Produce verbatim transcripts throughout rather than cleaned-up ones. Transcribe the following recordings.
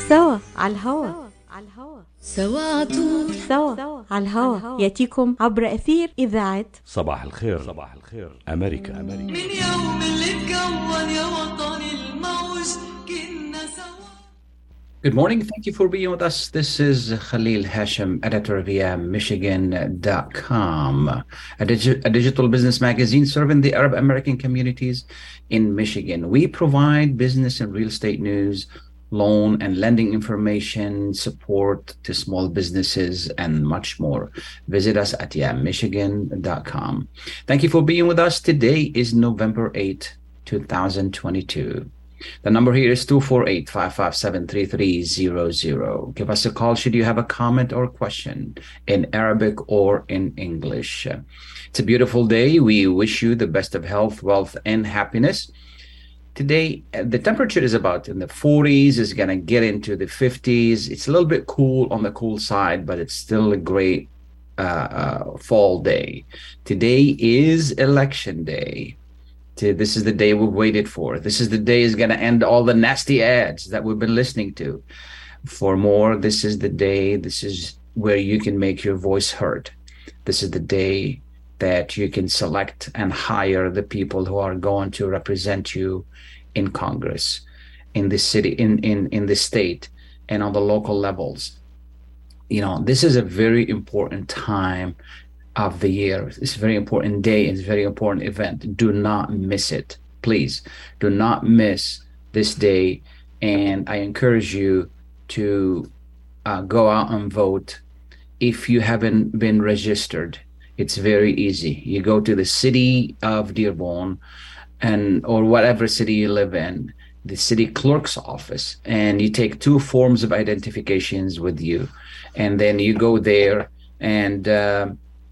سوا على الهوا سوا عطول سوا على الهوا ياتيكم عبر أثير إذاعة صباح الخير. صباح الخير أمريكا. أمريكا من يوم اللي اتكون يا وطني الموج كنا سوا. Good morning. Thank you for being with us. This is Khalil Hashem, editor via Michigan dot com, a, digi- a digital business magazine serving the Arab American communities in Michigan. We provide business and real estate news, loan and lending information, support to small businesses, and much more. Visit us at yeah, Michigan dot com. Thank you for being with us. Today is November eighth, twenty twenty-two. The number here is two four eight, five five seven, three three zero zero. Give us a call should you have a comment or question in Arabic or in English. It's a beautiful day. We wish you the best of health, wealth, and happiness. Today, the temperature is about in the forties. It's going to get into the fifties. It's a little bit cool on the cool side, but it's still a great uh, uh, fall day. Today is election day. This is the day we've waited for. This is the day is going to end all the nasty ads that we've been listening to. For more, this is the day. This is where you can make your voice heard. This is the day that you can select and hire the people who are going to represent you in Congress, in the city, in, in, in the state, and on the local levels. You know, this is a very important time of the year. It's a very important day. It's a very important event. Do not miss it. Please do not miss this day. And I encourage you to uh, go out and vote. If you haven't been registered, it's very easy. You go to the city of Dearborn and or whatever city you live in, the city clerk's office, and you take two forms of identifications with you. And then you go there and uh,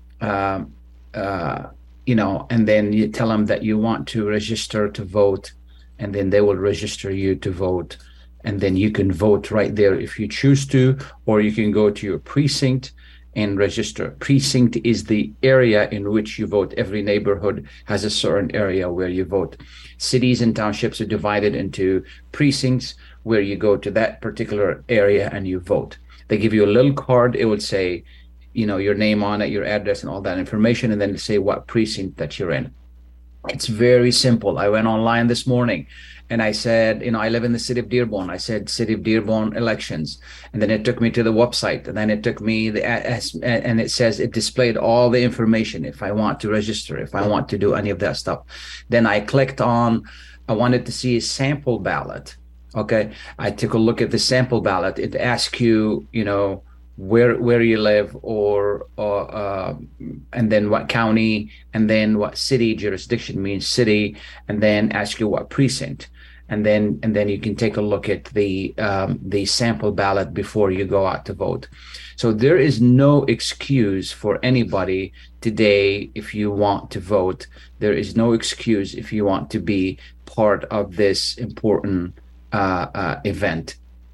Uh, uh, you know, and then you tell them that you want to register to vote, and then they will register you to vote, and then you can vote right there if you choose to, or you can go to your precinct and register. Precinct is the area in which you vote. Every neighborhood has a certain area where you vote. Cities and townships are divided into precincts where you go to that particular area and you vote. They give you a little card. It would say, you know, your name on it, your address, and all that information, and then say what precinct that you're in. It's very simple. I went online this morning and I said, you know, I live in the city of Dearborn. I said city of Dearborn elections. And then it took me to the website, and then it took me the, and it says it displayed all the information if I want to register, if I want to do any of that stuff. Then I clicked on, I wanted to see a sample ballot. Okay. I took a look at the sample ballot. It asks you, you know, where where you live, or or uh, and then what county, and then what city. Jurisdiction means city, and then ask you what precinct, and then and then you can take a look at the um, the sample ballot before you go out to vote. So there is no excuse for anybody today if you want to vote. There is no excuse if you want to be part of this important uh, uh, event.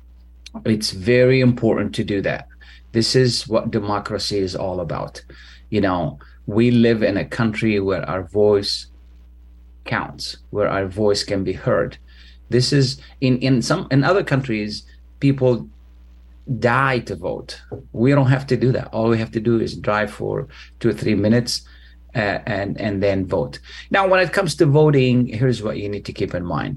It's very important to do that. This is what democracy is all about. You know, we live in a country where our voice counts, where our voice can be heard. This is in, in some in other countries, people die to vote. We don't have to do that. All we have to do is drive for two or three minutes uh, and, and then vote. Now, when it comes to voting, here's what you need to keep in mind.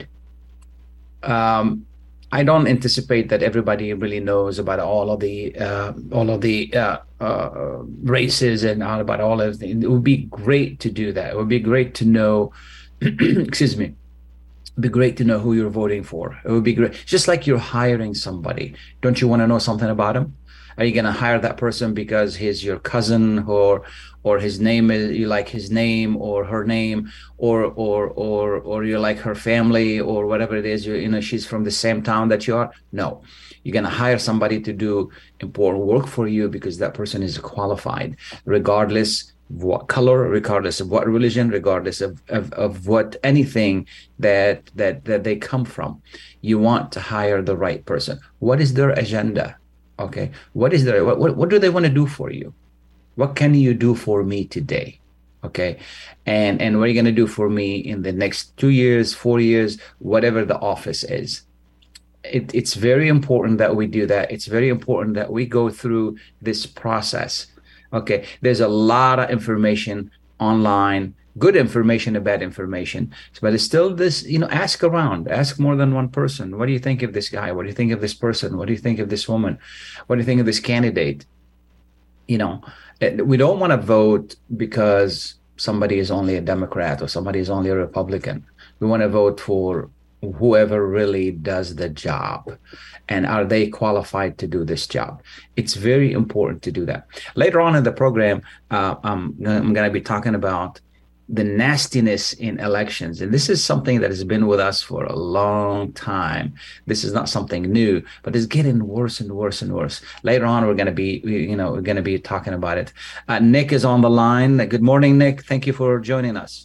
Um, I don't anticipate that everybody really knows about all of the uh, all of the uh, uh, races and all about all of the. It would be great to do that. It would be great to know. excuse me. It'd be great to know who you're voting for. It would be great. Just like you're hiring somebody. Don't you want to know something about him? Are you going to hire that person because he's your cousin, or or his name is you like his name or her name, or or or or you like her family, or whatever it is? You you know she's from the same town that you are. No, you're going to hire somebody to do important work for you because that person is qualified, regardless of what color, regardless of what religion, regardless of of, of what anything that that that they come from. You want to hire the right person. What is their agenda? Okay, what is there? What, what what do they want to do for you? What can you do for me today? Okay, and and what are you going to do for me in the next two years, four years, whatever the office is? it, it's very important that we do that. It's very important that we go through this process. Okay, there's a lot of information online, good information and bad information, but it's still this, you know, ask around, ask more than one person. What do you think of this guy? What do you think of this person? What do you think of this woman? What do you think of this candidate? You know, we don't want to vote because somebody is only a Democrat or somebody is only a Republican. We want to vote for whoever really does the job, and are they qualified to do this job? It's very important to do that. Later on in the program, uh, I'm, I'm going to be talking about the nastiness in elections, and this is something that has been with us for a long time. This is not something new, but it's getting worse and worse and worse. Later on, we're going to be, you know, we're going to be talking about it. Uh, Nick is on the line. Good morning, Nick. Thank you for joining us.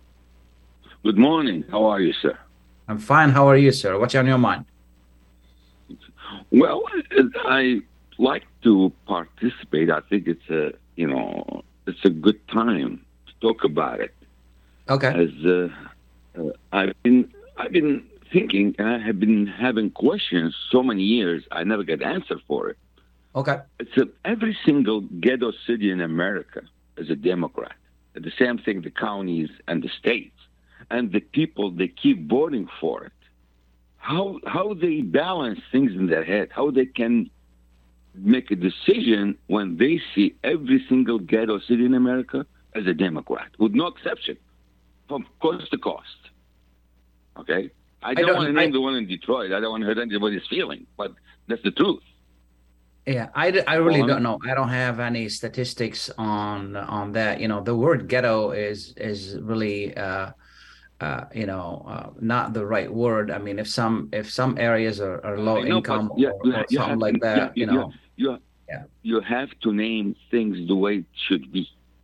Good morning. How are you, sir? I'm fine. How are you, sir? What's on your mind? Well, I like to participate. I think it's a, you know, it's a good time to talk about it. Okay. As uh, uh, I've been, I've been thinking, and I have been having questions so many years. I never get answer for it. Okay. It's a, every single ghetto city in America is a Democrat. The same thing, the counties and the states. And the people, they keep voting for it. How how they balance things in their head, how they can make a decision when they see every single ghetto city in America as a Democrat, with no exception, from coast to coast. Okay? I don't, I don't want to name I, the one in Detroit. I don't want to hurt anybody's feeling, but that's the truth. Yeah, I, I really don't know. I don't have any statistics on on that. You know, the word ghetto is is really... Uh, Uh, you know, uh, not the right word. I mean, if some if some areas are, are low know, income yeah, or, or something have, like that, yeah, you know, you you, yeah. you have to name things the way it should be.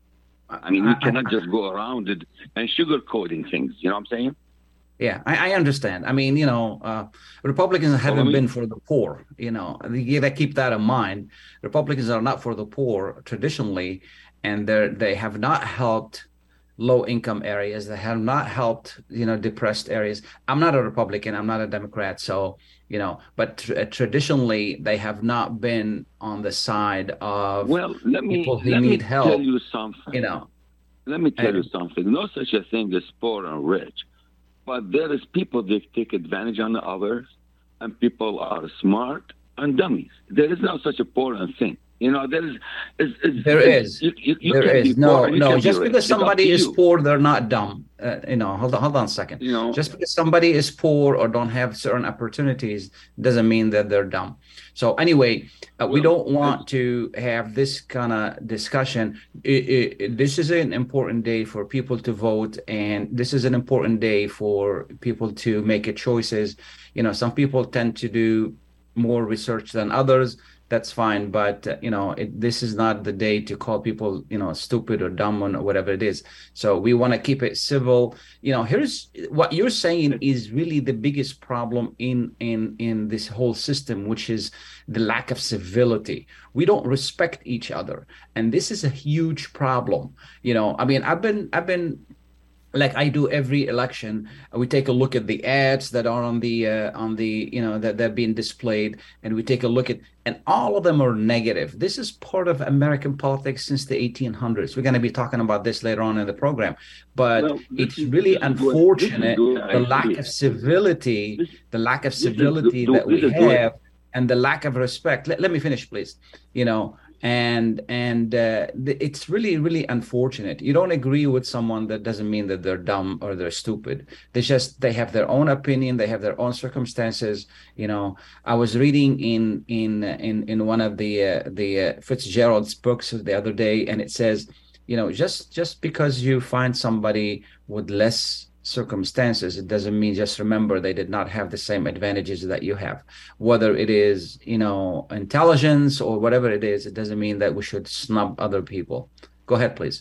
I mean, you I, cannot I, just go around it and sugarcoating things. You know what I'm saying? Yeah, I, I understand. I mean, you know, uh, Republicans haven't well, I mean, been for the poor. You know, you got to keep that in mind. Republicans are not for the poor traditionally, and they they have not helped low-income areas, that have not helped, you know, depressed areas. I'm not a Republican. I'm not a Democrat. So, you know, but tr- traditionally, they have not been on the side of well, let me, people who let need me help. Tell you something. You know, let me tell and, you something. No such a thing as poor and rich, but there is people that take advantage on the others, and people are smart and dummies. There is no such a poor and thing. You know, there is. Is, is there is. You, you, you there is. No, poor, no. Just be because somebody is you. poor, they're not dumb. Uh, you know, hold on, hold on a second. You know, just because somebody is poor or don't have certain opportunities doesn't mean that they're dumb. So anyway, uh, well, we don't want to have this kind of discussion. It, it, this is an important day for people to vote, and this is an important day for people to make a choices. You know, some people tend to do more research than others. That's fine, but uh, you know, it, this is not the day to call people, you know, stupid or dumb or whatever it is. So we want to keep it civil. You know, here's what you're saying is really the biggest problem in in in this whole system, which is the lack of civility. We don't respect each other, and this is a huge problem. You know, I mean, I've been I've been. like I do every election, we take a look at the ads that are on the uh, on the you know that they're being displayed, and we take a look at, and all of them are negative. This is part of American politics since the eighteen hundreds. We're going to be talking about this later on in the program, but well, it's is, really unfortunate the lack of civility, this, the lack of civility is, that we have, and the lack of respect. Let, let me finish, please. You know. And and uh, th- it's really, really unfortunate. You don't agree with someone, that doesn't mean that they're dumb or they're stupid. They just, they have their own opinion. They have their own circumstances. You know, I was reading in in in in one of the uh, the uh, Fitzgerald's books the other day, and it says, you know, just just because you find somebody with less circumstances, it doesn't mean, just remember, they did not have the same advantages that you have. Whether it is, you know, intelligence or whatever it is, it doesn't mean that we should snub other people. Go ahead, please.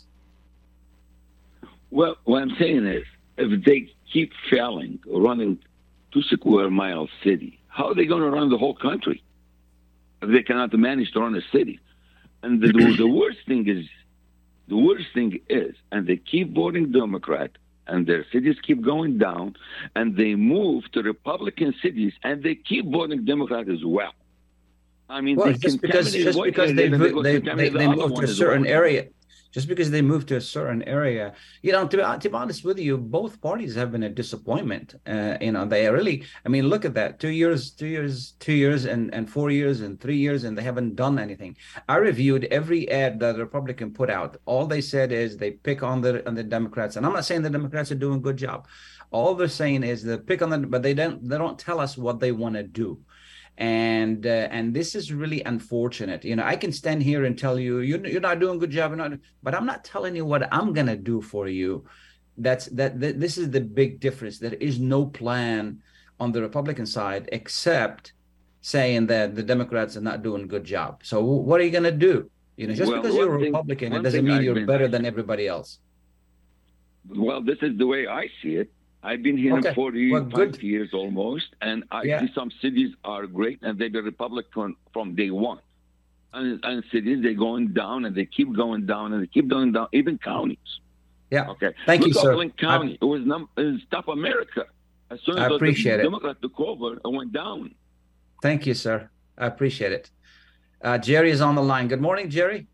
Well, what I'm saying is, if they keep failing running two square mile city, how are they going to run the whole country if they cannot manage to run a city? And the, the worst thing is, the worst thing is, and they keep voting Democrat, and their cities keep going down, and they move to Republican cities, and they keep voting Democrat as well. I mean, well, they just because just because they vo- they, they, they move to a certain area, just because they move to a certain area, you know, to, to be honest with you, both parties have been a disappointment. Uh, you know, they really, I mean, look at that, two years, two years, two years, and, and four years, and three years, and they haven't done anything. I reviewed every ad that the Republican put out. All they said is they pick on the on the Democrats, and I'm not saying the Democrats are doing a good job. All they're saying is they pick on them, but they don't they don't tell us what they want to do. And uh, and this is really unfortunate. You know, I can stand here and tell you you're, you're not doing a good job, you're not, but I'm not telling you what I'm gonna do for you. That's that, that. This is the big difference. There is no plan on the Republican side except saying that the Democrats are not doing a good job. So what are you gonna do? You know, just well, because you're a thing, Republican, it doesn't mean I've you're been, better than everybody else. Well, this is the way I see it. I've been here okay. forty-five well, years almost, and I yeah. see some cities are great, and they've been Republican from day one. And, and cities, they're going down, and they keep going down, and they keep going down, even counties. Yeah. Okay. Thank Look you, sir. Oakland County, I, it was num- it was top America. As soon as I appreciate the it. Democrat took over, it went down. Thank you, sir. I appreciate it. Uh, Jerry is on the line. Good morning, Jerry.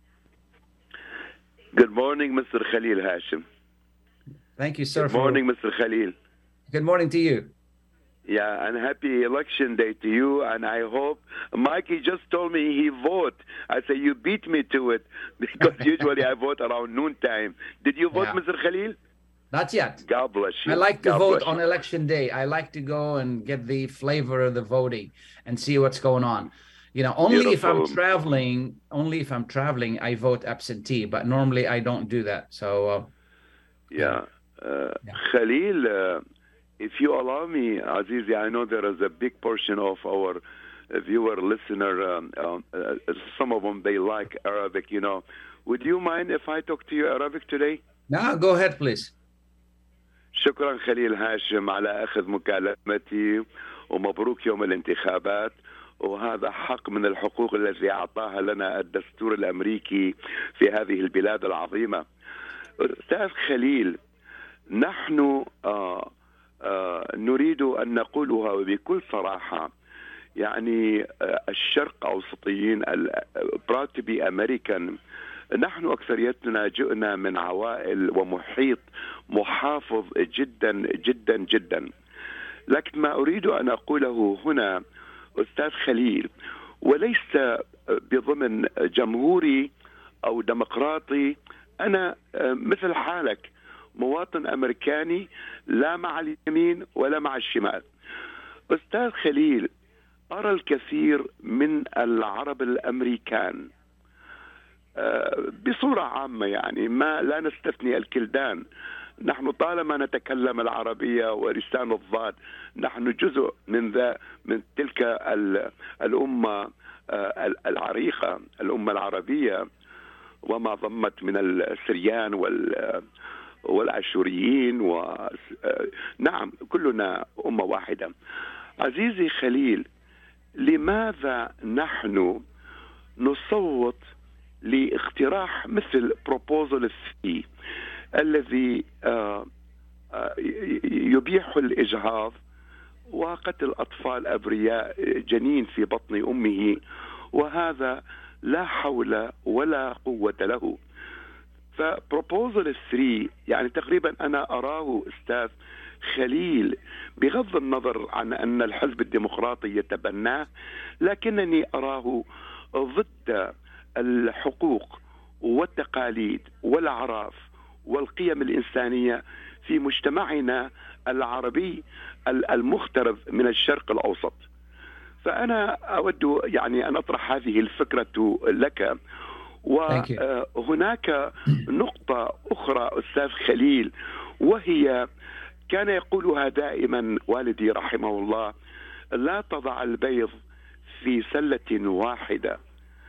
Good morning, Mister Khalil Hashim. Thank you, sir. Good morning, Mister Khalil. Good morning to you. Yeah, and happy election day to you. And I hope Mikey just told me he vote. I say you beat me to it because usually I vote around noontime. Did you vote, yeah. Mister Khalil? Not yet. God bless you. I like to God vote bless on you. election day. I like to go and get the flavor of the voting and see what's going on. You know, only Beautiful. if I'm traveling, only if I'm traveling, I vote absentee. But normally I don't do that. So, uh, yeah. Uh, yeah. Khalil, uh, if you allow me, Azizi, I know there is a big portion of our uh, viewer, listener, um, um, uh, some of them, they like Arabic, you know. Would you mind if I talk to you Arabic today? No, go ahead, please. شكرا خليل هاشم على أخذ مكالمتي ومبروك يوم الانتخابات وهذا حق من الحقوق التي أعطاها لنا الدستور الأمريكي في هذه البلاد العظيمة. أستاذ خليل، نحن آه آه نريد أن نقولها بكل صراحة، يعني آه الشرق أوسطيين proud to be American، نحن أكثريتنا جئنا من عوائل ومحيط محافظ جدا جدا جدا. لكن ما أريد أن أقوله هنا أستاذ خليل، وليس بضمن جمهوري أو ديمقراطي، أنا مثل حالك مواطن أمريكاني لا مع اليمين ولا مع الشمال. أستاذ خليل، أرى الكثير من العرب الأمريكان بصورة عامة، يعني ما لا نستثني الكلدان، نحن طالما نتكلم العربية ولسان الضاد، نحن جزء من ذا من تلك الأمة العريقة، الأمة العربية، وما ضمت من السريان وال والأشوريين، ونعم كلنا أمة واحدة. عزيزي خليل، لماذا نحن نصوت لاقتراح مثل بروبوزل ثري الذي يبيح الإجهاض وقتل أطفال أبرياء جنين في بطن أمه، وهذا لا حول ولا قوة له. فبروبوزل ثري يعني تقريبا أنا أراه أستاذ خليل، بغض النظر عن أن الحزب الديمقراطي يتبناه، لكنني أراه ضد الحقوق والتقاليد والأعراف والقيم الإنسانية في مجتمعنا العربي المخترب من الشرق الأوسط. فأنا أود يعني أن أطرح هذه الفكرة لك. وهناك نقطة أخرى أستاذ خليل، وهي كان يقولها دائما والدي رحمه الله: لا تضع البيض في سلة واحدة،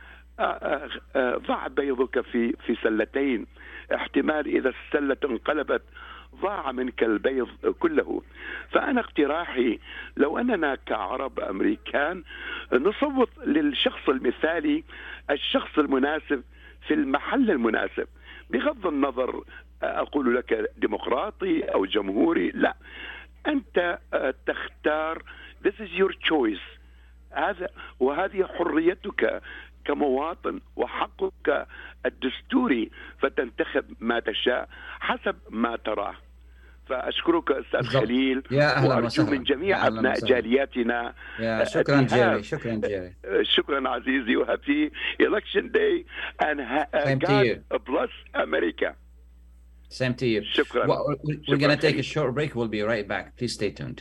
ضع بيضك في في سلتين، احتمال إذا السلة انقلبت ضاع منك البيض كله. فأنا اقتراحي لو أننا كعرب أمريكان نصوت للشخص المثالي، الشخص المناسب في المحل المناسب، بغض النظر أقول لك ديمقراطي أو جمهوري، لا، أنت تختار. This is your choice. هذا وهذه حريتك كمواطن وحقك الدستوري، فتنتخب ما تشاء حسب ما تراه. فأشكرك أستاذ خليل، وأرجو من جميع أبناء جالياتنا. شكرا جيري. شكرا جيري. شكرا عزيزي، وهابي election day and God bless America. Same to you. شكرا. Well, we're going to take a short break. We'll be right back. Please stay tuned.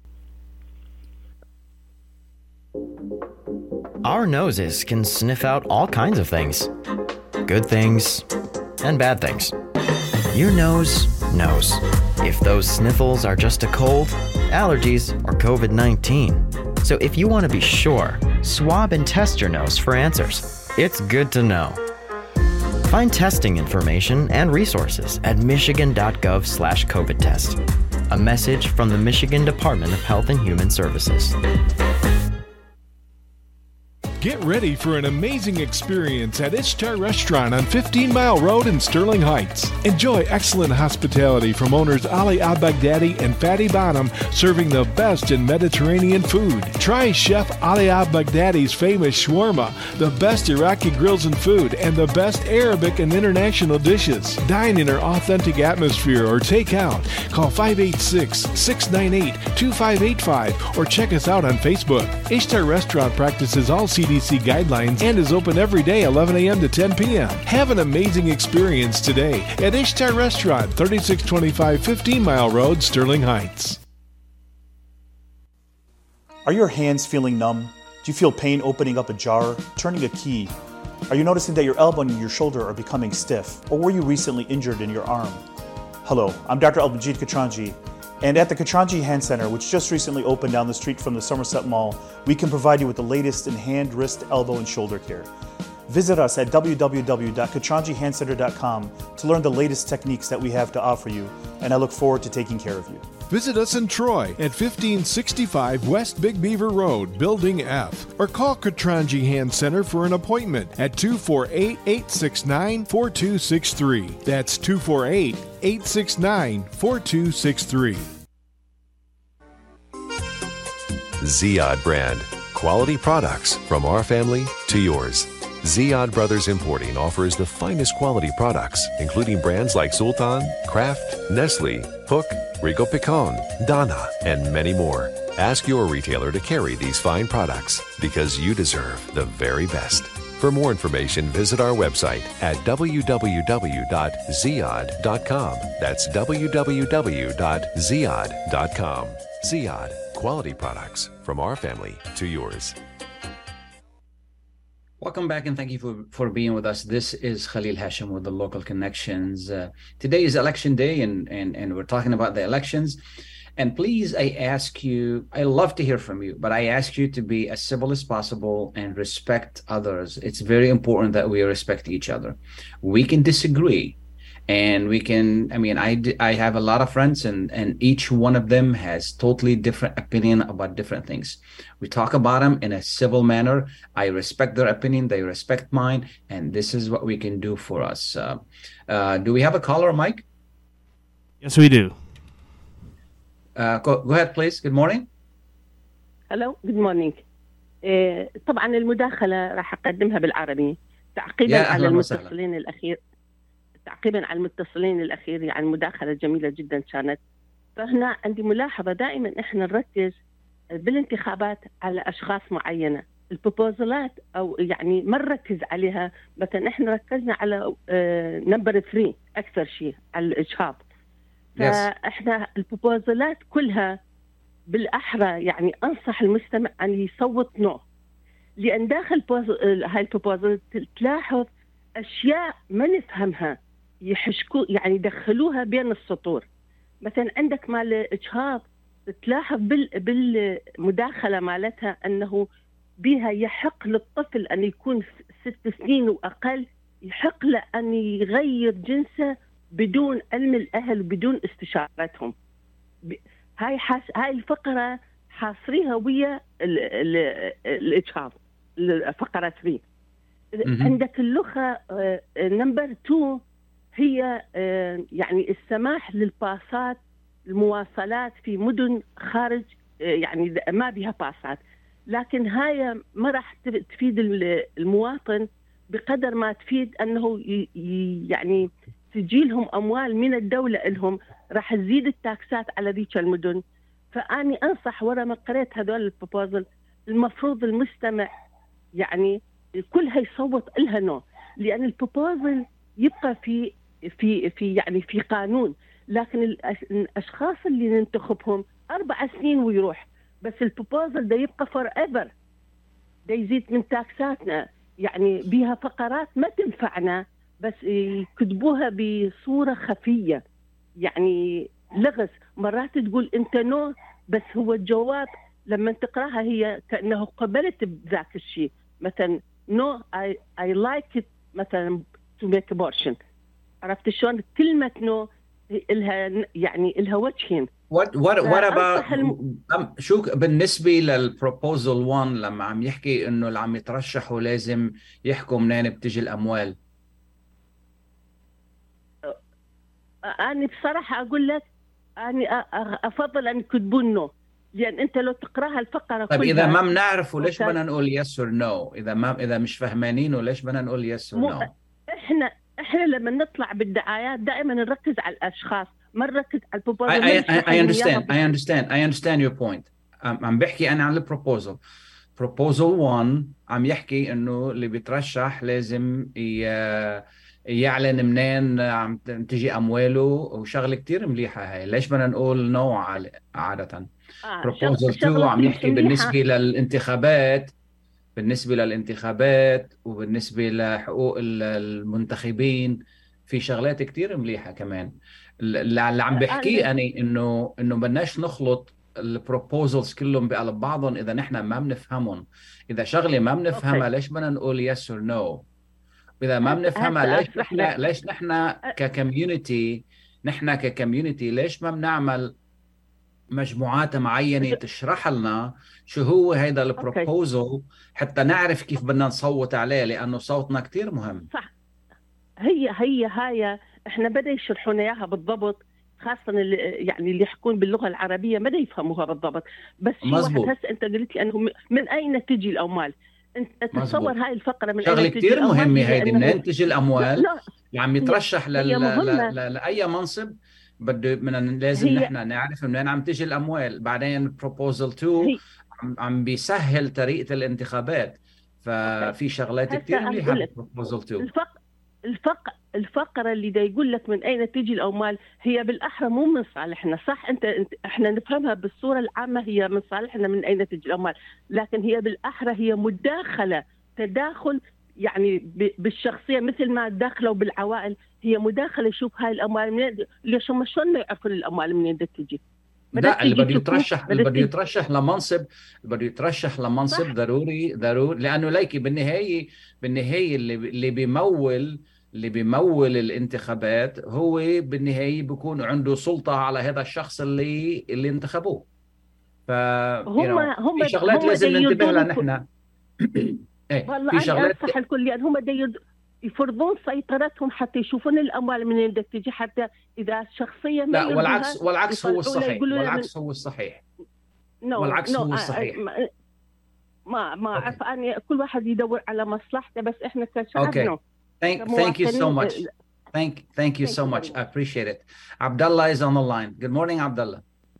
Our noses can sniff out all kinds of things. Good things and bad things. Your nose knows if those sniffles are just a cold, allergies, or covid nineteen. So if you want to be sure, swab and test your nose for answers. It's good to know. Find testing information and resources at michigan.gov slash COVID test. A message from the Michigan Department of Health and Human Services. Get ready for an amazing experience at Ishtar Restaurant on fifteen Mile Road in Sterling Heights. Enjoy excellent hospitality from owners Ali Al-Baghdadi and Fatty Bonham, serving the best in Mediterranean food. Try Chef Ali Al-Baghdadi's famous shawarma, the best Iraqi grills and food, and the best Arabic and international dishes. Dine in our authentic atmosphere or take out. Call five eight six, six nine eight, two five eight five or check us out on Facebook. Ishtar Restaurant practices all C D C guidelines and is open every day eleven a.m. to ten p.m. Have an amazing experience today at Ishtar Restaurant, thirty-six twenty-five fifteen Mile Road, Sterling Heights. Are your hands feeling numb? Do you feel pain opening up a jar, turning a key? Are you noticing that your elbow and your shoulder are becoming stiff? Or were you recently injured in your arm? Hello, I'm Doctor Al-Majid Katranji. And at the Katranji Hand Center, which just recently opened down the street from the Somerset Mall, we can provide you with the latest in hand, wrist, elbow, and shoulder care. Visit us at w w w dot katranji hand center dot com to learn the latest techniques that we have to offer you, and I look forward to taking care of you. Visit us in Troy at fifteen sixty-five West Big Beaver Road, Building F, or call Katranji Hand Center for an appointment at two four eight, eight six nine, four two six three. That's two four eight, eight six nine, four two six three. Ziyad brand. Quality products from our family to yours. Ziyad Brothers Importing offers the finest quality products, including brands like Sultan, Kraft, Nestle, Hook, Rico Picon, Donna, and many more. Ask your retailer to carry these fine products because you deserve the very best. For more information, visit our website at w w w dot ziyad dot com. That's w w w dot ziyad dot com. Ziyad, quality products from our family to yours. Welcome back, and thank you for, for being with us. This is Khalil Hashim with the Local Connections. Uh, today is election day, and, and, and we're talking about the elections. And please, I ask you, I love to hear from you, but I ask you to be as civil as possible and respect others. It's very important that we respect each other. We can disagree, and we can, I mean, I, I have a lot of friends, and, and each one of them has totally different opinion about different things. We talk about them in a civil manner. I respect their opinion, they respect mine, and this is what we can do for us. Uh, uh, do we have a caller, Mike? Yes, we do. Uh, go, go ahead, please. Good morning. Hello. Good morning. Uh, طبعا المداخلة راح أقدمها بالعربي تعقيبا على المتصلين الأخير. تعقيبا على المتصلين الأخير، يعني مداخلة جميلة جدا كانت. فهنا عندي ملاحظة، دائما إحنا نركز بالانتخابات على أشخاص معينة، البروبوزلات أو يعني ما نركز عليها. مثلا إحنا ركزنا على نمبر ثري أكثر شيء على الإجهاض. فإحنا البروبوزلات كلها بالأحرى يعني أنصح المستمع أن يصوت نو، لأن داخل هاي البروبوزل تلاحظ أشياء ما نفهمها، يحشكوا يعني يدخلوها بين السطور. مثلا عندك مال إجهاض تلاحظ بالمداخلة مالتها أنه بها يحق للطفل أن يكون ست سنين وأقل، يحق له أن يغير جنسه بدون علم الأهل وبدون استشارتهم. هاي حاس... هاي الفقرة حاصريها ويا الإجهاض، الفقرة ثلاثة. عندك اللغة نمبر اثنين هي يعني السماح للباصات المواصلات في مدن خارج يعني ما بها باصات، لكن هاي ما راح تفيد المواطن بقدر ما تفيد أنه يعني تجيلهم أموال من الدولة لهم، راح تزيد التاكسات على ذيك المدن. فأني أنصح ورا ما قريت هذول البروبوزل المفروض المستمع يعني كلها يصوت لها نو، لأن البروبوزل يبقى في في في يعني في قانون، لكن الأشخاص اللي ننتخبهم أربع سنين ويروح، بس البروبوزل ده يبقى فور ايفر، ده يزيد من تاكساتنا، يعني بها فقرات ما تنفعنا، بس يكتبوها بصورة خفية يعني لغز. مرات تقول انت نو، بس هو الجواب لما تقراها هي كأنه قبلت بذاك الشيء، مثلا نو I, I like it مثلا to make abortion. عرفت شلون؟ كلمة نو إلها يعني إلها وجهين. What what what about الم... شو بالنسبة للبروبوزل واحد لما عم يحكي إنه اللي عم يترشحوا لازم يحكوا منين بتجي الأموال؟ أنا بصراحة أقول لك أنا أفضل أن يكتبون نو، لأن أنت لو تقرأها الفقرة طيب إذا ما بنعرفه ليش بدنا نقول يس اور نو؟ إذا ما إذا مش فهمانينه ليش بدنا نقول يس اور نو؟ إحنا إحنا لما نطلع بالدعايات دائما نركز على الأشخاص، ما نركز على البروبوزل. I, I, I understand I understand I understand your point. عم بحكي أنا عن البروبوزل. بروبوزل واحد عم يحكي إنه اللي بيترشح لازم يعلن منين عم تجي أمواله، وشغلة كتير مليحة هاي. ليش بدنا نقول نو عادة؟ بروبوزل اثنين عم يحكي بالنسبة للانتخابات بالنسبة للانتخابات وبالنسبة لحقوق المنتخبين، في شغلات كتير مليحة كمان. اللي عم بحكيه أنا إنه إنه بدناش نخلط البروبوزلز كلهم بقلب بعضهم إذا نحن ما بنفهمهم. إذا شغلة ما بنفهمها ليش بدنا نقول يس اور نو؟ إذا ما بنفهمها ليش نحن ليش نحن ككميونتي نحن ككميونتي ليش ما بنعمل مجموعات معينة تشرح لنا شو هو هيدا البروبوزل حتى نعرف كيف بدنا نصوت عليه، لأنه صوتنا كتير مهم. صح. هي هي هاي احنا بدأ يشرحونا اياها بالضبط، خاصة اللي يعني اللي يحكون باللغة العربية ما يفهموها بالضبط. بس شو واحد هسه انت قلت لي انه من اين تجي الأموال؟ انت تصور هاي الفقرة من شغلة كتير مهمة هيدي، منين تجي الأموال؟ اللي عم يترشح لأي منصب بده من لازم نحن نعرف منين عم تيجي الأموال. بعدين بروبوزل اثنين عم, عم بيسهل طريقة الانتخابات، ففي شغلات كتير مليحة بروبوزل اثنين. الفق... الفق... الفقرة اللي دا يقول لك من أين تيجي الأموال هي بالأحرى مو من صالحنا، صح؟ أنت, انت احنا نفهمها بالصورة العامة هي من صالحنا من أين تيجي الأموال، لكن هي بالأحرى هي مداخلة، تداخل يعني بالشخصية، مثل ما داخلوا بالعوائل، هي مداخلة. شوف هاي الأموال منين، ليش هم شلون ما يعرفون الأموال منين بدها تجي؟ لا اللي بده يترشح اللي بده يترشح لمنصب اللي بده يترشح لمنصب ضروري ضروري لأنه ليكي بالنهاية بالنهاية اللي اللي بيمول اللي بيمول الانتخابات هو بالنهاية بيكون عنده سلطة على هذا الشخص اللي اللي انتخبوه. ف هم هم في شغلات هم لازم ننتبه لها نحن. ايه والله في شغلات صح الكل، يعني هم دي يفرضون سيطرتهم حتى يشوفون الأموال منين بدها تجي، حتى إذا شخصية ما لا والعكس والعكس هو الصحيح والعكس هو الصحيح no, والعكس no, هو الصحيح. ما ما أعرف أنا، كل واحد يدور على مصلحته، بس إحنا كشعب okay. no. Thank, thank you so much. Thank, thank you so much. I appreciate it. Abdullah is on the line. Good morning, Abdullah.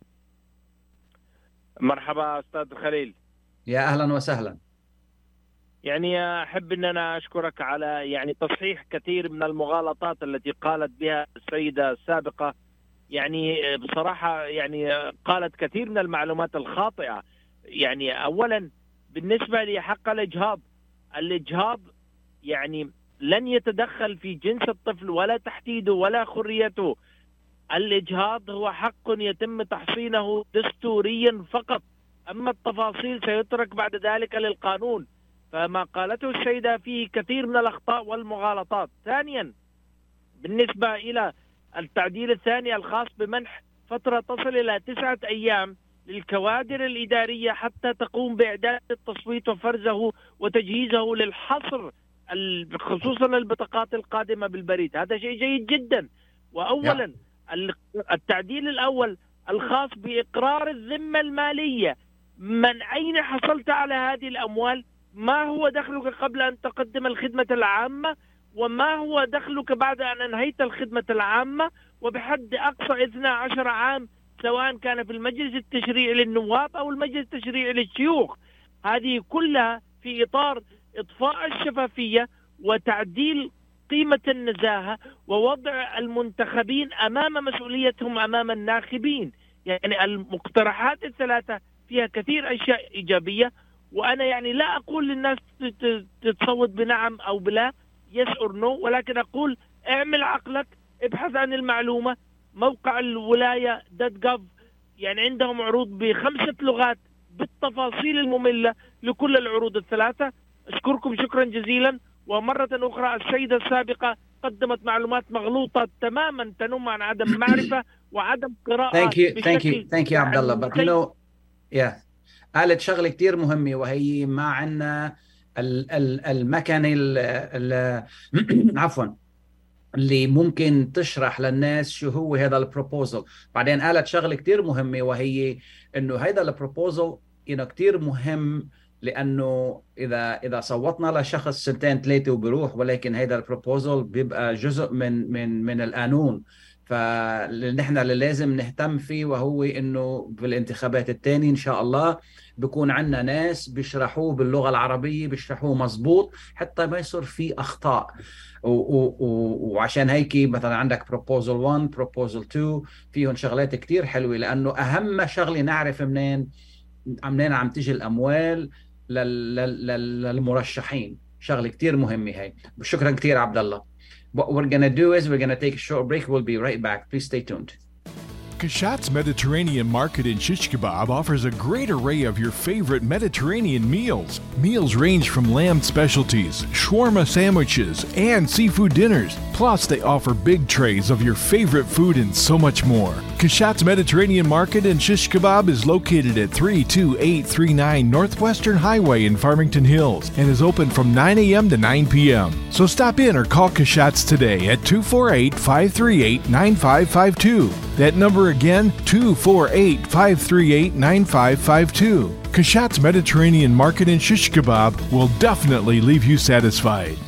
مرحبا أستاذ خليل. يا أهلا وسهلا. يعني أحب أن أنا أشكرك على يعني تصحيح كثير من المغالطات التي قالت بها السيدة السابقة. يعني بصراحة يعني قالت كثير من المعلومات الخاطئة. يعني أولا بالنسبة لحق الإجهاض، الإجهاض يعني لن يتدخل في جنس الطفل ولا تحديده ولا خريته. الإجهاض هو حق يتم تحصينه دستوريا فقط، أما التفاصيل سيترك بعد ذلك للقانون. فما قالته السيدة فيه كثير من الأخطاء والمغالطات. ثانيا بالنسبة إلى التعديل الثاني الخاص بمنح فترة تصل إلى تسعة أيام للكوادر الإدارية حتى تقوم بإعداد التصويت وفرزه وتجهيزه للحصر خصوصا البطاقات القادمة بالبريد. هذا شيء جيد جدا. وأولا التعديل الأول الخاص بإقرار الذمة المالية، من أين حصلت على هذه الأموال، ما هو دخلك قبل أن تقدم الخدمة العامة، وما هو دخلك بعد أن أنهيت الخدمة العامة، وبحد أقصى اثنا عشر عام سواء كان في المجلس التشريعي للنواب أو المجلس التشريعي للشيوخ. هذه كلها في إطار إضفاء الشفافية وتعديل قيمة النزاهة ووضع المنتخبين أمام مسؤوليتهم أمام الناخبين. يعني المقترحات الثلاثة فيها كثير أشياء إيجابية، وأنا يعني لا أقول للناس تتصوت بنعم أو بلا yes or no، ولكن أقول اعمل عقلك، ابحث عن المعلومة. موقع الولاية دوت جوف يعني عندهم عروض بخمسة لغات بالتفاصيل المملة لكل العروض الثلاثة. أشكركم شكرا جزيلا. ومرة أخرى السيدة السابقة قدمت معلومات مغلوطة تماما تنم عن عدم معرفة وعدم قراءة. Thank you, thank you, thank you عبد الله. But you know, yeah, قالت شغلة كتير مهمة، وهي ما عنا المكنة عفوا اللي ممكن تشرح للناس شو هو هذا البروبوزل. بعدين قالت شغلة كتير مهمة، وهي إنه هذا البروبوزل إنه كتير مهم، لأنه إذا إذا صوتنا لشخص سنتين ثلاثة وبروح، ولكن هذا البروبوزل بيبقى جزء من من من القانون. فنحن اللي لازم نهتم فيه وهو إنه بالانتخابات الثانية إن شاء الله بيكون عندنا ناس بيشرحوه باللغة العربية، بيشرحوه مزبوط حتى ما يصير فيه أخطاء. وعشان هيك مثلا عندك proposal واحد proposal اثنين فيهم شغلات كتير حلوة، لأنه أهم شغلة نعرف منين منين عم تيجي الأموال للمرشحين. شغلة كتير مهمة هاي. شكرا كتير عبد الله. What we're going to do is we're going to take a short break. We'll be right back. Please stay tuned. Kashat's Mediterranean Market in Shish Kebab offers a great array of your favorite Mediterranean meals. Meals range from lamb specialties, shawarma sandwiches, and seafood dinners. Plus, they offer big trays of your favorite food and so much more. Kashat's Mediterranean Market in Shish Kebab is located at three two eight three nine Northwestern Highway in Farmington Hills and is open from nine a.m. to nine p.m. So stop in or call Kashat's today at two four eight, five three eight, nine five five two. That number again, two four eight, five three eight, nine five five two. Kashat's Mediterranean Market in Shish Kebab will definitely leave you satisfied.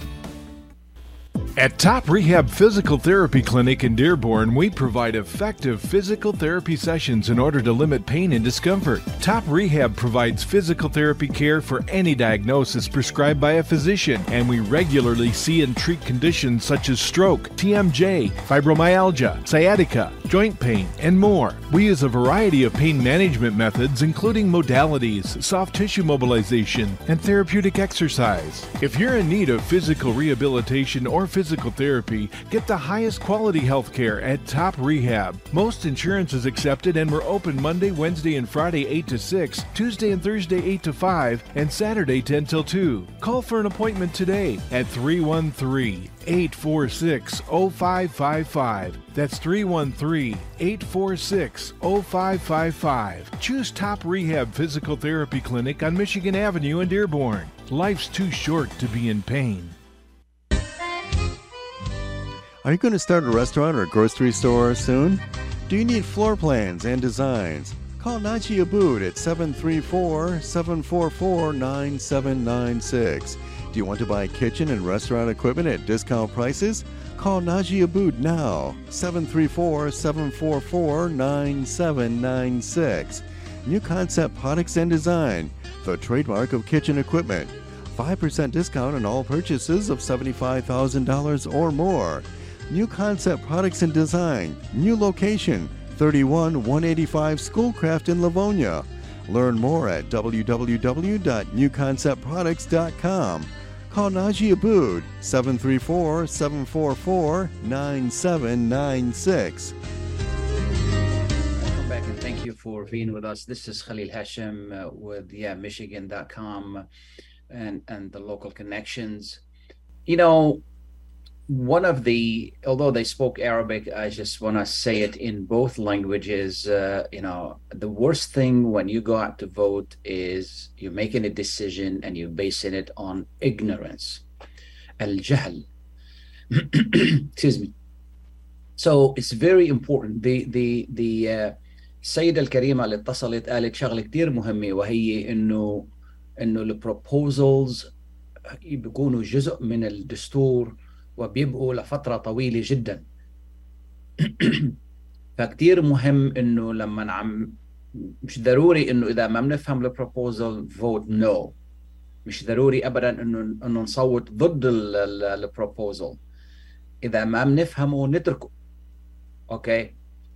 At Top Rehab Physical Therapy Clinic in Dearborn, we provide effective physical therapy sessions in order to limit pain and discomfort. Top Rehab provides physical therapy care for any diagnosis prescribed by a physician, and we regularly see and treat conditions such as stroke, T M J, fibromyalgia, sciatica, joint pain, and more. We use a variety of pain management methods, including modalities, soft tissue mobilization, and therapeutic exercise. If you're in need of physical rehabilitation or physical Physical therapy, get the highest quality health care at Top Rehab. Most insurance is accepted, and we're open Monday, Wednesday, and Friday eight to six, Tuesday and Thursday eight to five, and Saturday ten till two. Call for an appointment today at three one three, eight four six, zero five five five. That's three one three, eight four six, zero five five five. Choose Top Rehab Physical Therapy Clinic on Michigan Avenue in Dearborn. Life's too short to be in pain. Are you going to start a restaurant or grocery store soon? Do you need floor plans and designs? Call Najee Abood at seven three four, seven four four, nine seven nine six. Do you want to buy kitchen and restaurant equipment at discount prices? Call Najee Abood now, seven three four, seven four four, nine seven nine six. New Concept Products and Design, the trademark of kitchen equipment. five percent discount on all purchases of seventy-five thousand dollars or more. New Concept Products and Design, new location, thirty-one one eighty-five Schoolcraft in Livonia. Learn more at w w w dot new concept products dot com. Call Najee Abood, seven three four, seven four four, nine seven nine six. Welcome back and thank you for being with us. This is Khalil Hashem uh, with yeah, Michigan dot com and, and the local connections. You know, one of the, although they spoke Arabic, I just want to say it in both languages. Uh, you know, the worst thing when you go out to vote is you're making a decision and you're basing it on ignorance. الجهل. Excuse me. So it's very important. The the the uh, السيدة الكريمة اللي اتصلت قالت شغلة كتير مهمة، وهي إنه إنه البروبوزلز بيكونوا جزء من الدستور وبيبقوا لفترة طويلة جدا. فكتير مهم إنه لما نعم مش ضروري إنه إذا ما بنفهم البروبوزل فوت نو، مش ضروري أبدا إنه إنه نصوت ضد البروبوزل. إذا ما بنفهمه نتركه. أوكي،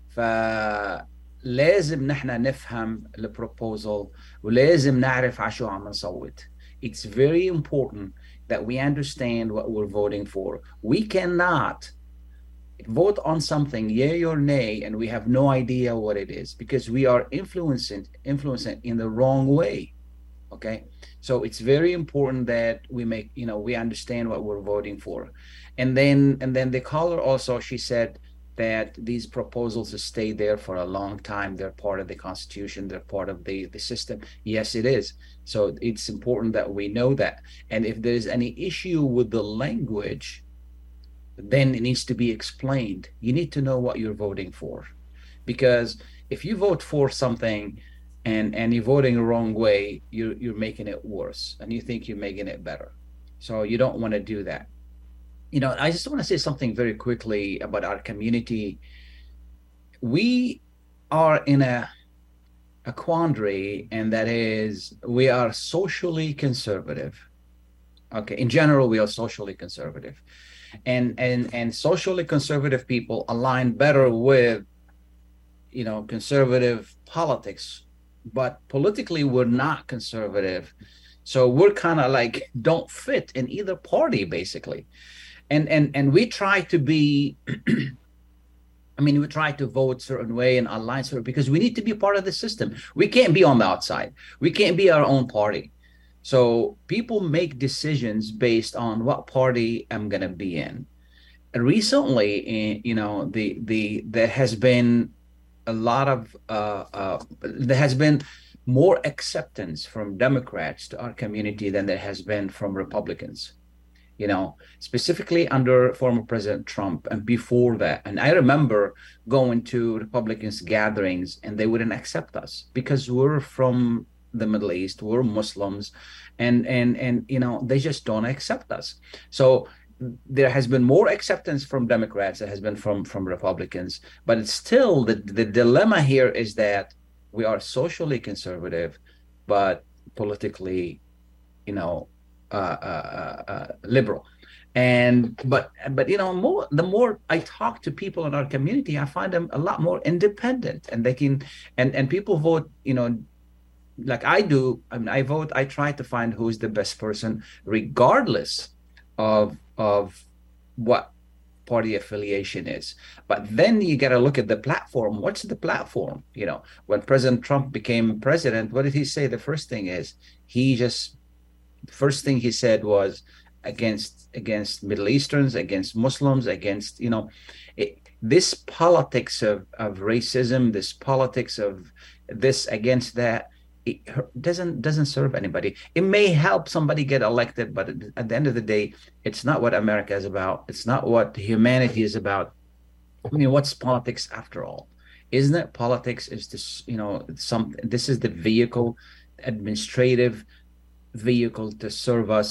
فلازم نحن نفهم البروبوزل ولازم نعرف على شو عم نصوت. It's very important that we understand what we're voting for. We cannot vote on something, yay or nay, and we have no idea what it is because we are influencing, influencing in the wrong way. Okay, so it's very important that we make, you know, we understand what we're voting for. And then, and then the caller also, she said that these proposals stay there for a long time. They're part of the Constitution. They're part of the, the system. Yes, it is. So it's important that we know that. And if there's any issue with the language, then it needs to be explained. You need to know what you're voting for. Because if you vote for something and, and you're voting the wrong way, you're, you're making it worse. And you think you're making it better. So you don't want to do that. You know, I just want to say something very quickly about our community. We are in a, a quandary, and that is we are socially conservative. Okay, in general, we are socially conservative. And, and, and socially conservative people align better with, you know, conservative politics. But politically, we're not conservative. So we're kind of like don't fit in either party, basically. And and and we try to be, I mean, we try to vote certain way and align certain because we need to be part of the system. We can't be on the outside. We can't be our own party. So people make decisions based on what party I'm going to be in. Recently, you know, the the there has been a lot of uh, uh, there has been more acceptance from Democrats to our community than there has been from Republicans. You know, specifically under former President Trump and before that. And I remember going to Republicans gatherings and they wouldn't accept us because we're from the Middle East, we're Muslims, and and and you know, they just don't accept us. So there has been more acceptance from Democrats than has been from from Republicans. But it's still the the dilemma here is that we are socially conservative, but politically, you know, Uh, uh, uh, liberal. And but but you know, more the more I talk to people in our community, I find them a lot more independent, and they can and and people vote, you know, like I do. I mean, I vote. I try to find who's the best person, regardless of of what party affiliation is. But then you got to look at the platform. What's the platform? You know, when President Trump became president, what did he say? The first thing is he just first thing he said was against against Middle Easterns, against Muslims, against, you know, it, this politics of, of racism, this politics of this against that, it doesn't doesn't serve anybody. It may help somebody get elected, but at the end of the day, it's not what America is about. It's not what humanity is about. I mean, what's politics after all? Isn't it politics is this, you know, some this is the vehicle, administrative vehicle to serve us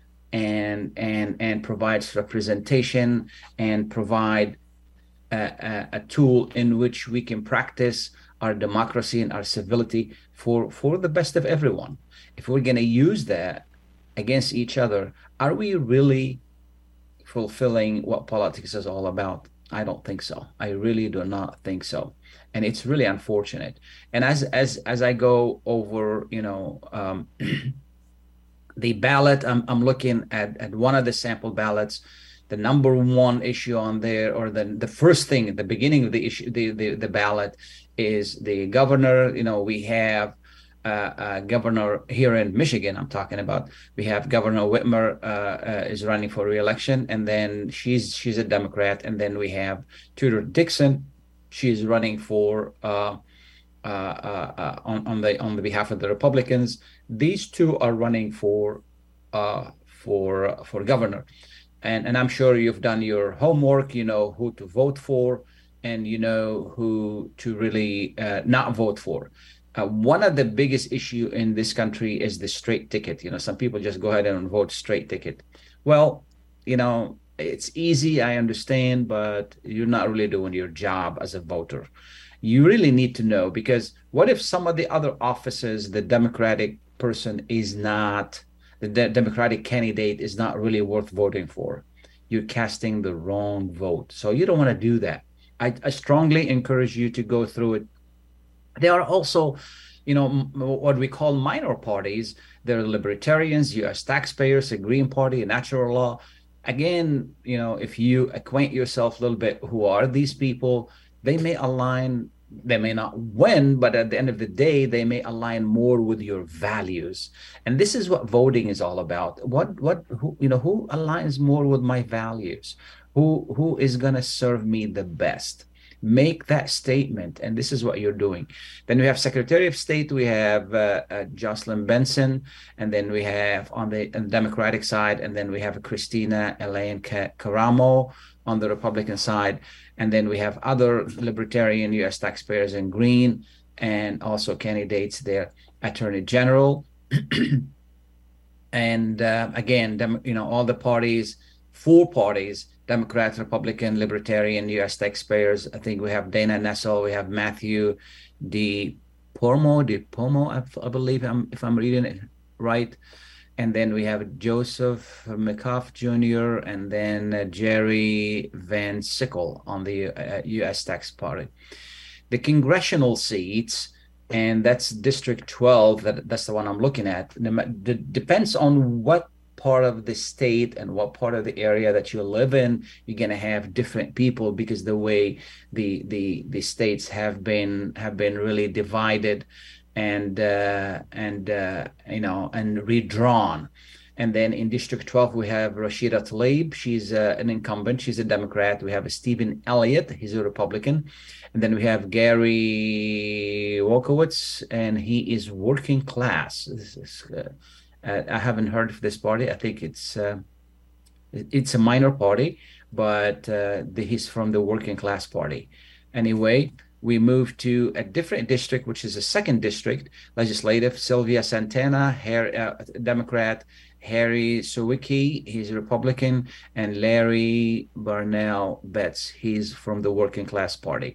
and and and provides representation and provide a, a, a tool in which we can practice our democracy and our civility for for the best of everyone. If we're going to use that against each other, are we really fulfilling what politics is all about? I don't think so. I really do not think so. And it's really unfortunate. And as as as I go over, you know, um the ballot, I'm, I'm looking at, at one of the sample ballots. The number one issue on there, or the, the first thing at the beginning of the issue, the, the, the ballot is the governor. You know, we have uh, uh, governor here in Michigan, I'm talking about. We have Governor Whitmer uh, uh, is running for re-election, and then she's she's a Democrat. And then we have Tudor Dixon. She's running for uh, uh, uh, uh, on, on the on the behalf of the Republicans. These two are running for uh, for for governor. and, and I'm sure you've done your homework, you know who to vote for, and you know who to really uh, not vote for. Uh, one of the biggest issue in this country is the straight ticket. You know, some people just go ahead and vote straight ticket. Well, you know, it's easy, I understand, but you're not really doing your job as a voter. You really need to know, because what if some of the other offices, the Democratic person is not, the de- Democratic candidate is not really worth voting for? You're casting the wrong vote. So you don't want to do that. I, I strongly encourage you to go through it. There are also, you know, m- what we call minor parties. There are libertarians, U S taxpayers, a Green Party, a natural law. Again, you know, if you acquaint yourself a little bit, who are these people? They may align, they may not win, but at the end of the day, they may align more with your values. And this is what voting is all about. What, what, who, you know, who aligns more with my values? Who, who is going to serve me the best? Make that statement, and this is what you're doing. Then we have Secretary of State, we have uh, uh, Jocelyn Benson, and then we have on the, on the Democratic side, and then we have Christina Elaine Caramo on the Republican side, and then we have other libertarian U S taxpayers in green, and also candidates there, Attorney General, and uh, again, dem- you know, all the parties, four parties. Democrat, Republican, Libertarian, U S taxpayers. I think we have Dana Nessel, we have Matthew Di Pomo, Di Pomo, I, I believe, I'm, if I'm reading it right. And then we have Joseph McCuff Junior and then uh, Jerry Van Sickle on the uh, U S Tax Party. The congressional seats, and that's District twelve, that, that's the one I'm looking at. It depends on what part of the state and what part of the area that you live in, you're going to have different people, because the way the the the states have been have been really divided and uh and uh you know and redrawn. And then in District twelve we have Rashida Tlaib, she's uh, an incumbent, she's a Democrat. We have Stephen Elliott, he's a Republican. And then we have Gary Wolkowitz, and he is working class. This is uh, Uh, I haven't heard of this party. I think it's uh, it's a minor party, but uh, the, he's from the working class party. Anyway, we move to a different district, which is a second district, legislative. Sylvia Santana, Harry, uh, Democrat. Harry Sawicki, he's a Republican. And Larry Barnell Betts, he's from the working class party.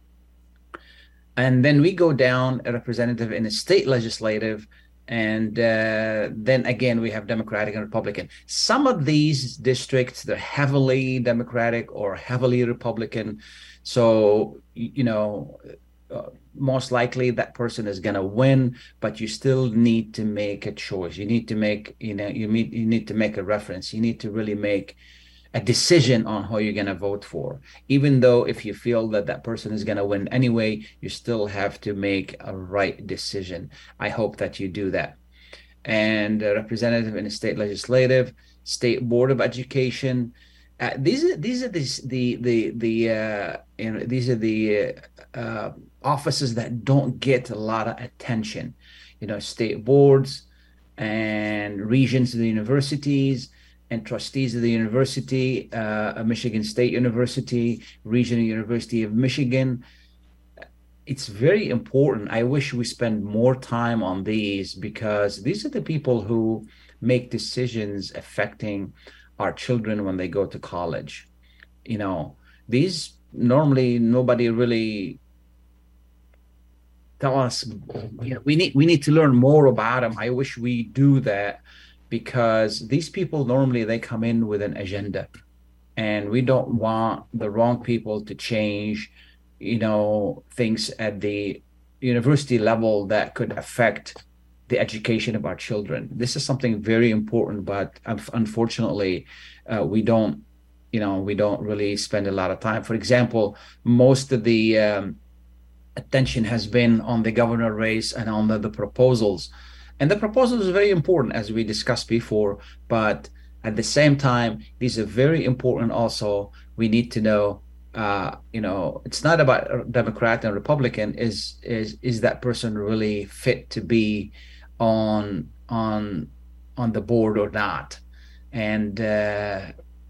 And then we go down a representative in a state legislative. And uh, then again, we have Democratic and Republican. Some of these districts, they're heavily Democratic or heavily Republican. So, you know, uh, most likely that person is going to win, but you still need to make a choice. You need to make, you know, you need, you need to make a reference. You need to really make a decision on who you're going to vote for. Even though if you feel that that person is going to win anyway, you still have to make a right decision. I hope that you do that. And a representative in the state legislative, state board of education. Uh, these are these are the the the, the uh, you know, these are the uh, offices that don't get a lot of attention. You know, state boards and regents of the universities, and trustees of the university, uh, Michigan State University, Regional University of Michigan. It's very important. I wish we spend more time on these, because these are the people who make decisions affecting our children when they go to college. You know, these normally nobody really tell us, you know, we need we need to learn more about them. I wish we do that, because these people normally they come in with an agenda, and we don't want the wrong people to change, you know, things at the university level that could affect the education of our children. This is something very important, but unfortunately, uh, we don't, you know, we don't really spend a lot of time. For example, most of the um, attention has been on the governor race and on the, the proposals. And the proposal is very important, as we discussed before, but at the same time, these are very important also. We need to know, uh, you know, it's not about Democrat and Republican. Is is is that person really fit to be on on on the board or not? And uh,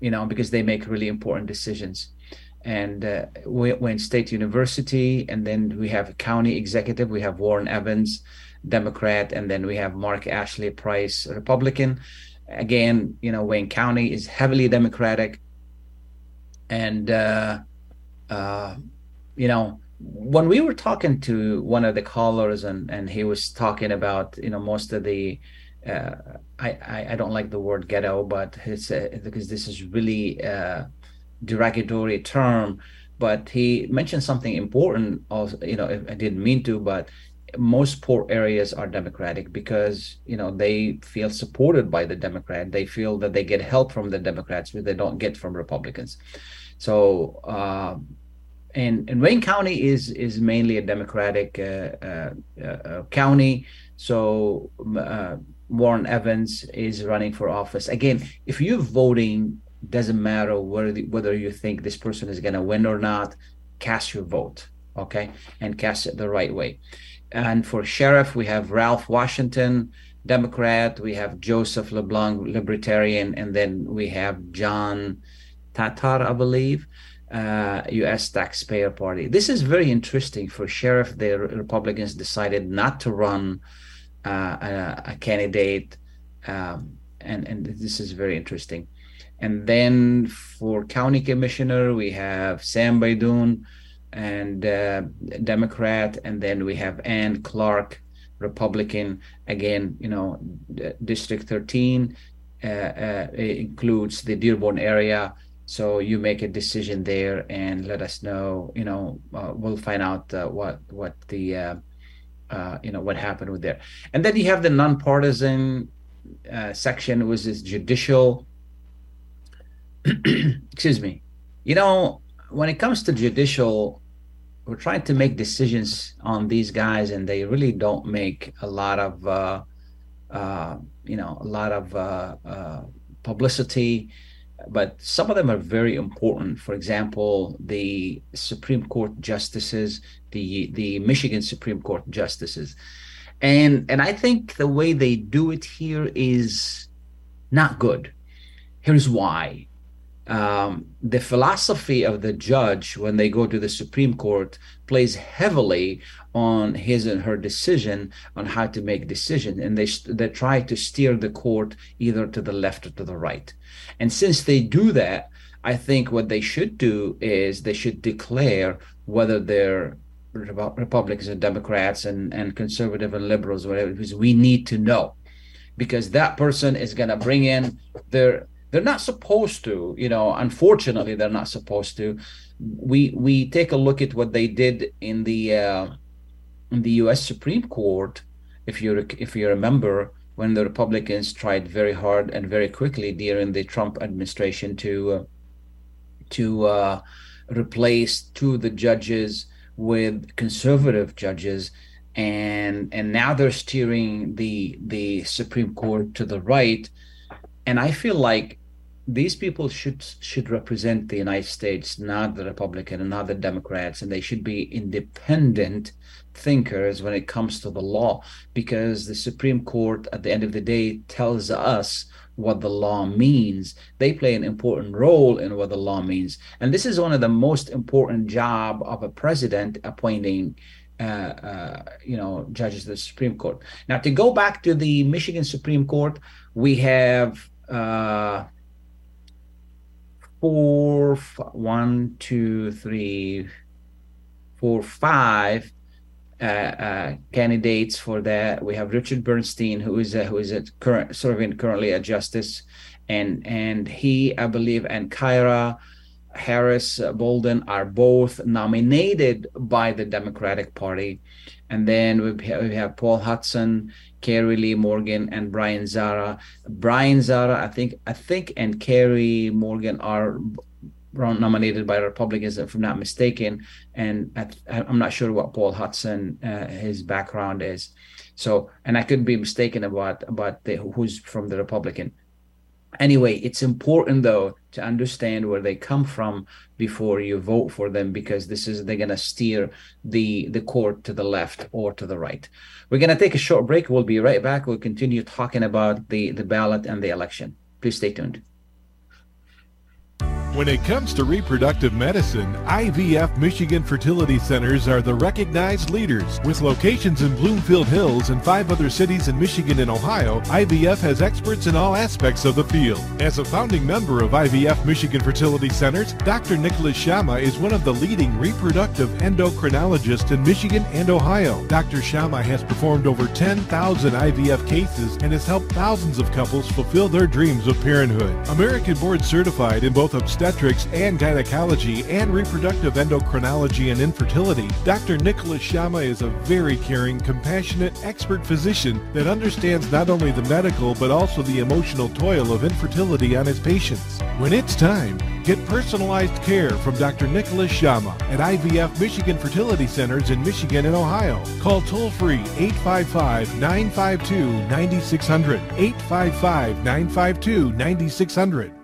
you know, because they make really important decisions. And uh, we, we're in State University, and then we have a county executive. We have Warren Evans, Democrat, and then we have Mark Ashley Price, Republican. Again, you know, Wayne County is heavily Democratic. And, uh, uh, you know, when we were talking to one of the callers and, and he was talking about, you know, most of the, uh, I, I, I don't like the word ghetto, but it's uh, because this is really uh, derogatory term, but he mentioned something important also, you know, I didn't mean to, but most poor areas are Democratic because, you know, they feel supported by the Democrat. They feel that they get help from the Democrats, which they don't get from Republicans. So, uh, and, and Wayne County is is mainly a Democratic uh, uh, uh, county. So uh, Warren Evans is running for office. Again, if you're voting, doesn't matter whether, whether you think this person is going to win or not, cast your vote, okay? And cast it the right way. And for sheriff, we have Ralph Washington, Democrat. We have Joseph LeBlanc, Libertarian. And then we have John Tatar, I believe, uh, U S Taxpayer Party. This is very interesting. For sheriff, the Republicans decided not to run uh, a, a candidate. Um, and, and this is very interesting. And then for county commissioner, we have Sam Baidoon, and uh, Democrat, and then we have Ann Clark, Republican. Again, you know, District thirteen uh, uh, includes the Dearborn area, so you make a decision there and let us know. You know, uh, we'll find out uh, what what the uh, uh, you know what happened with there. And then you have the nonpartisan uh, section, which is judicial. Excuse me. You know, when it comes to judicial, we're trying to make decisions on these guys, and they really don't make a lot of, uh, uh, you know, a lot of uh, uh, publicity. But some of them are very important. For example, the Supreme Court justices, the the Michigan Supreme Court justices, and and I think the way they do it here is not good. Here's why. Um, the philosophy of the judge when they go to the Supreme Court plays heavily on his and her decision on how to make decisions, and they they try to steer the court either to the left or to the right. And since they do that, I think what they should do is they should declare whether they're Republicans and Democrats and, and conservative and liberals, whatever, because we need to know, because that person is going to bring in their. They're not supposed to, you know, unfortunately, they're not supposed to. We we take a look at what they did in the uh, in the U S Supreme Court, if you if you remember, when the Republicans tried very hard and very quickly during the Trump administration to uh, to uh, replace two of the judges with conservative judges, and and now they're steering the the Supreme Court to the right, and I feel like these people should should represent the United States, not the Republican and not the Democrats, and they should be independent thinkers when it comes to the law, because the Supreme Court at the end of the day tells us what the law means. They play an important role in what the law means, and this is one of the most important job of a president, appointing uh, uh, you know judges of the Supreme Court. Now, to go back to the Michigan Supreme Court, we have uh, four, one, two, three, four, five uh, uh, candidates for that. We have Richard Bernstein, who is a, who is a current serving currently a justice, and and he, I believe, and Kyra Harris Bolden are both nominated by the Democratic Party. And then we have, we have Paul Hudson, Carrie Lee Morgan, and Brian Zara. Brian Zara, I think, I think, and Carrie Morgan are nominated by Republicans, if I'm not mistaken. And I, I'm not sure what Paul Hudson, uh, his background is. So, and I could be mistaken about about the, who's from the Republican. Anyway, it's important, though, to understand where they come from before you vote for them, because this is they're going to steer the, the court to the left or to the right. We're going to take a short break. We'll be right back. We'll continue talking about the, the ballot and the election. Please stay tuned. When it comes to reproductive medicine, I V F Michigan Fertility Centers are the recognized leaders. With locations in Bloomfield Hills and five other cities in Michigan and Ohio, I V F has experts in all aspects of the field. As a founding member of I V F Michigan Fertility Centers, Doctor Nicholas Shama is one of the leading reproductive endocrinologists in Michigan and Ohio. Doctor Shama has performed over ten thousand I V F cases and has helped thousands of couples fulfill their dreams of parenthood. American board certified in both obstetrics and gynecology and reproductive endocrinology and infertility, Doctor Nicholas Shama is a very caring, compassionate, expert physician that understands not only the medical but also the emotional toil of infertility on his patients. When it's time, get personalized care from Doctor Nicholas Shama at I V F Michigan Fertility Centers in Michigan and Ohio. Call toll-free eight five five, nine five two, nine six zero zero, eight five five, nine five two, nine six zero zero.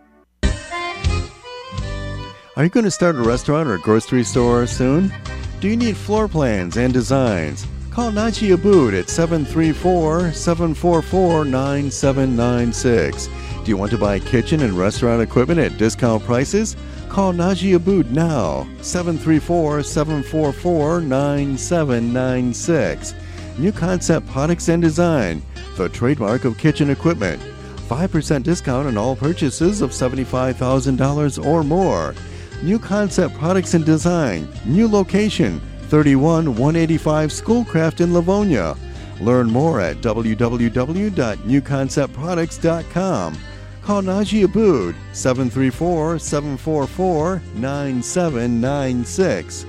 Are you going to start a restaurant or a grocery store soon? Do you need floor plans and designs? Call Najee Abood at seven three four, seven four four, nine seven nine six. Do you want to buy kitchen and restaurant equipment at discount prices? Call Najee Abood now, seven three four, seven four four, nine seven nine six. New Concept Products and Design, the trademark of kitchen equipment. five percent discount on all purchases of seventy-five thousand dollars or more. New Concept Products and Design, new location, thirty-one one eighty-five Schoolcraft in Livonia. Learn more at w w w dot new concept products dot com. Call Najee Abood, seven three four, seven four four, nine seven nine six.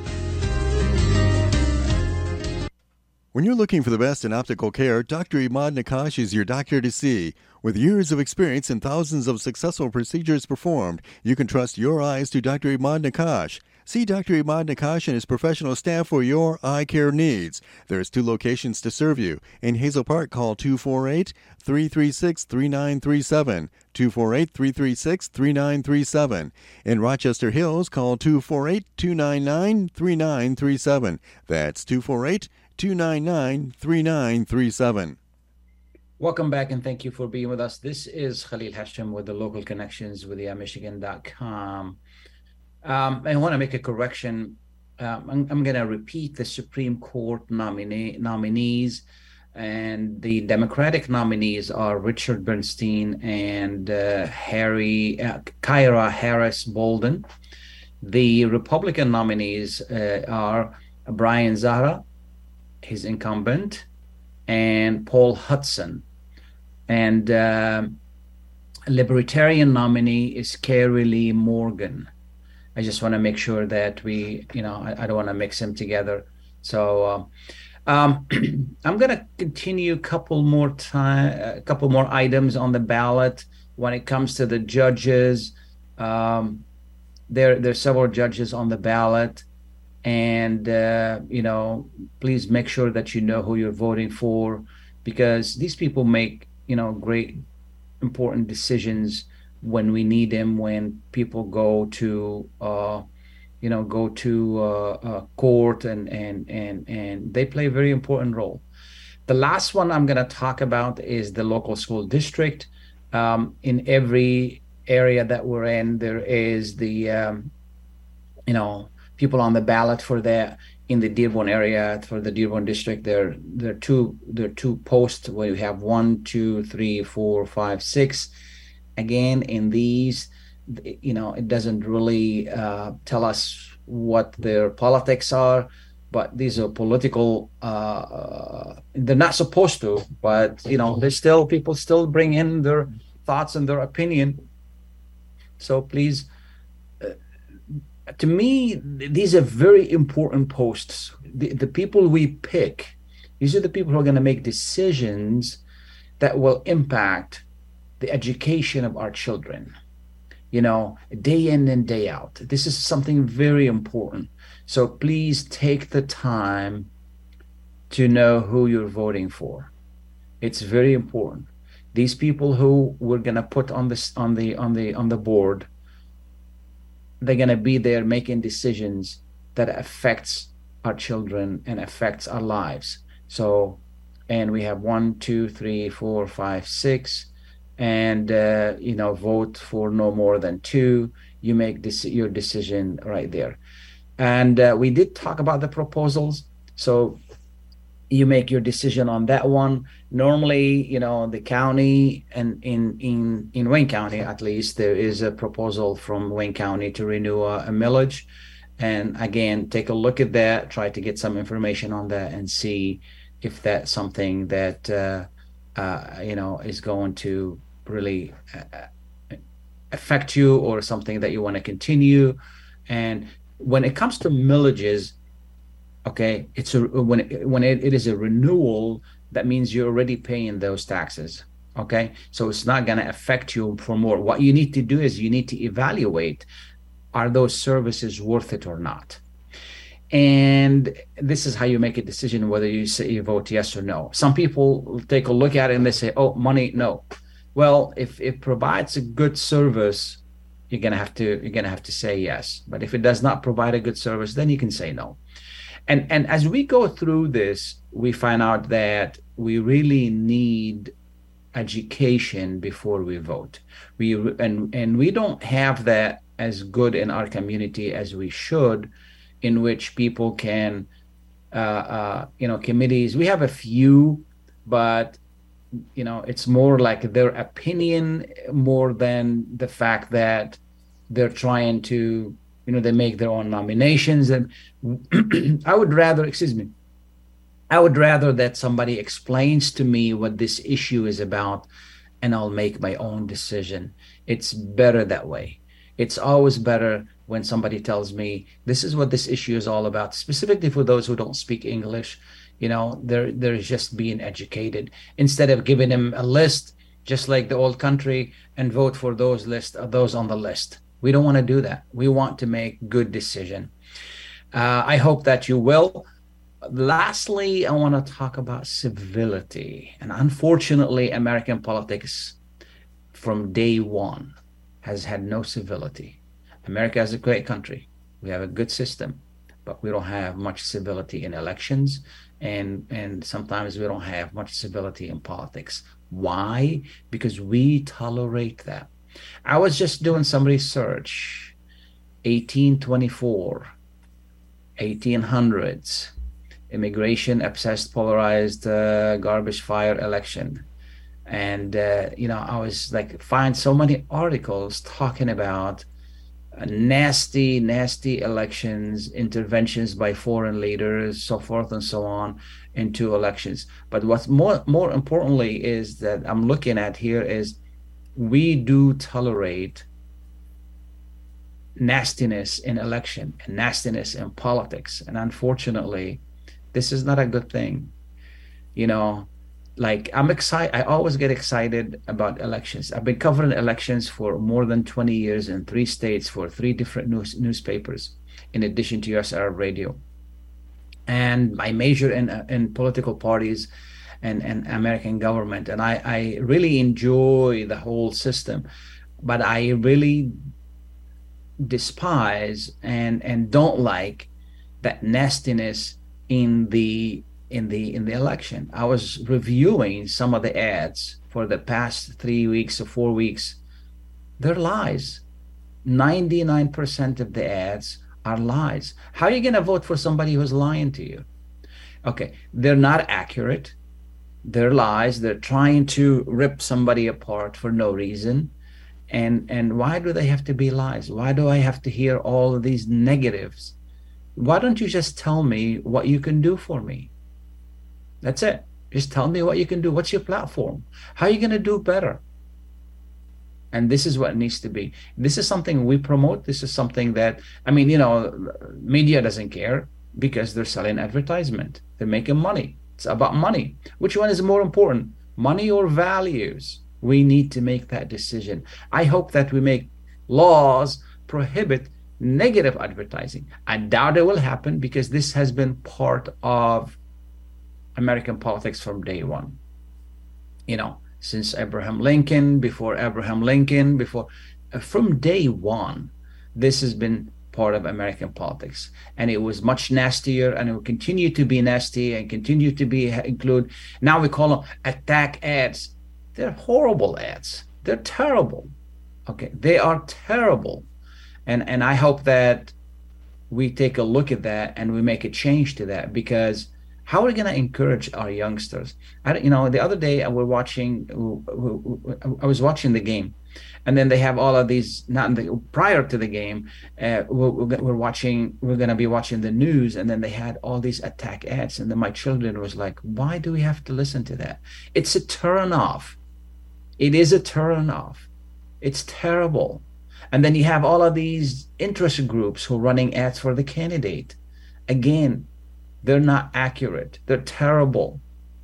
When you're looking for the best in optical care, Doctor Imad Nakash is your doctor to see. With years of experience and thousands of successful procedures performed, you can trust your eyes to Doctor Imad Nakash. See Doctor Imad Nakash and his professional staff for your eye care needs. There's two locations to serve you. In Hazel Park, call two four eight, three three six, three nine three seven, two four eight, three three six, three nine three seven. In Rochester Hills, call two four eight, two nine nine, three nine three seven. That's two four eight, two nine nine, three nine three seven. Welcome back, and thank you for being with us. This is Khalil Hashim with the Local Connections with the Michigan dot com. Um, I want to make a correction. Um, I'm, I'm going to repeat the Supreme Court nominee, nominees, and the Democratic nominees are Richard Bernstein and uh, Harry uh, Kyra Harris Bolden. The Republican nominees uh, are Brian Zahra, his incumbent, and Paul Hudson. And uh, Libertarian nominee is Carrie Lee Morgan. I just want to make sure that we, you know, I, I don't want to mix them together. So uh, um, I'm going to continue a couple more time, a couple more items on the ballot when it comes to the judges. Um, there, there's several judges on the ballot. And, uh, you know, please make sure that you know who you're voting for, because these people make, you know, great, important decisions when we need them, when people go to, uh, you know, go to uh, uh, court and, and, and, and they play a very important role. The last one I'm going to talk about is the local school district. Um, in every area that we're in, there is the, um, you know, people on the ballot for the in the Dearborn area, for the Dearborn district. There, there are two there are two posts where you have one, two, three, four, five, six. Again, in these, you know, it doesn't really uh, tell us what their politics are, but these are political. Uh, they're not supposed to, but you know, there's still people still bring in their thoughts and their opinion. So please. To me, these are very important posts. The, the people we pick, these are the people who are going to make decisions that will impact the education of our children, you know, day in and day out. This is something very important. So please take the time to know who you're voting for. It's very important. These people who we're going to put on this on the on the on the board, they're going to be there making decisions that affects our children and affects our lives. So, and we have one, two, three, four, five, six, and, uh, you know, vote for no more than two. you make this your decision right there. And uh, we did talk about the proposals, so you make your decision on that one. Normally, you know, the county and in in in Wayne County, at least, there is a proposal from Wayne County to renew a, a millage. And again, take a look at that, try to get some information on that and see if that's something that uh, uh, you know, is going to really uh, affect you, or something that you want to continue. And when it comes to millages, okay, it's a when it, when it, it is a renewal, that means you're already paying those taxes. Okay, so it's not going to affect you for more. What you need to do is you need to evaluate, are those services worth it or not? And this is how you make a decision whether you say you vote yes or no. Some people take a look at it and they say, oh, money, no. Well, if it provides a good service, you're gonna have to you're gonna have to say yes. But if it does not provide a good service, then you can say no. And and as we go through this, we find out that we really need education before we vote. We and and we don't have that as good in our community as we should, in which people can, uh, uh, you know, committees. We have a few, but you know, it's more like their opinion more than the fact that they're trying to, you know, they make their own nominations. And I would rather, excuse me, I would rather that somebody explains to me what this issue is about, and I'll make my own decision. It's better that way. It's always better when somebody tells me this is what this issue is all about, specifically for those who don't speak English. You know, they're, they're just being educated, instead of giving them a list, just like the old country, and vote for those list, uh, those on the list. We don't want to do that. We want to make good decision. Uh, I hope that you will. Lastly, I want to talk about civility. And unfortunately, American politics from day one has had no civility. America is a great country. We have a good system, but we don't have much civility in elections, and and sometimes we don't have much civility in politics. Why? Because we tolerate that. I was just doing some research. eighteen twenty-four, eighteen hundreds, immigration obsessed, polarized, uh, garbage fire election. And, uh, you know, I was like, find so many articles talking about uh, nasty, nasty elections, interventions by foreign leaders, so forth and so on, into elections. But what's more, more importantly is that I'm looking at here is we do tolerate nastiness in election and nastiness in politics. And unfortunately, this is not a good thing. You know, like I'm excited. I always get excited about elections. I've been covering elections for more than twenty years in three states for three different news newspapers, in addition to U S Arab Radio. And I major in in political parties and, and American government. And I, I really enjoy the whole system, but I really despise and, and don't like that nastiness in the in the in the election. I was reviewing some of the ads for the past three weeks or four weeks. They're lies. ninety-nine percent of the ads are lies. How are you going to vote for somebody who's lying to you? Okay, they're not accurate. They're lies. They're trying to rip somebody apart for no reason. And and why do they have to be lies? Why do I have to hear all of these negatives? Why don't you just tell me what you can do for me? That's it. Just tell me what you can do. What's your platform? How are you going to do better? And this is what it needs to be. This is something we promote. This is something that, I mean, you know, media doesn't care because they're selling advertisement. They're making money. It's about money. Which one is more important, money or values? We need to make that decision. I hope that we make laws prohibit negative advertising. I doubt it will happen because this has been part of American politics from day one. You know, since Abraham Lincoln, before Abraham Lincoln, before, uh, from day one, this has been part of American politics. And it was much nastier, and it will continue to be nasty and continue to be include. Now we call them attack ads. They're horrible ads. They're terrible. Okay, they are terrible. And and I hope that we take a look at that and we make a change to that, because how are we going to encourage our youngsters? I, you know, the other day I was watching, I was watching the game, and then they have all of these. Not in the, prior to the game, uh, we're, we're watching. We're going to be watching the news, and then they had all these attack ads, and then my children was like, "Why do we have to listen to that? It's a turn off. It is a turn off. It's terrible." And then you have all of these interest groups who are running ads for the candidate. Again, they're not accurate. They're terrible.